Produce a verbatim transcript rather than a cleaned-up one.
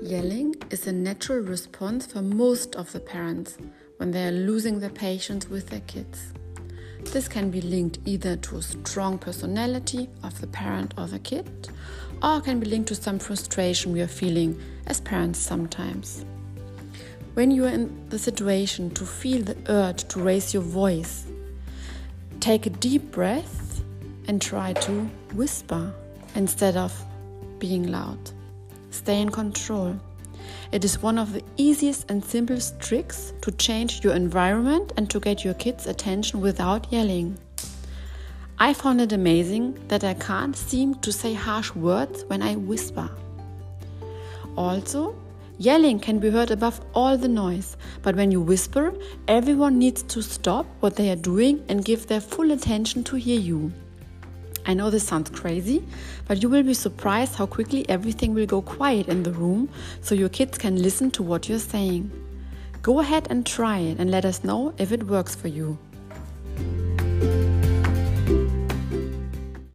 Yelling is a natural response for most of the parents when they are losing their patience with their kids. This can be linked either to a strong personality of the parent or the kid, or can be linked to some frustration we are feeling as parents sometimes. When you are in the situation to feel the urge to raise your voice, take a deep breath and try to whisper instead of being loud. Stay in control. It is one of the easiest and simplest tricks to change your environment and to get your kids' attention without yelling. I found it amazing that I can't seem to say harsh words when I whisper. Also, yelling can be heard above all the noise, but when you whisper, everyone needs to stop what they are doing and give their full attention to hear you. I know this sounds crazy, but you will be surprised how quickly everything will go quiet in the room so your kids can listen to what you're saying. Go ahead and try it and let us know if it works for you.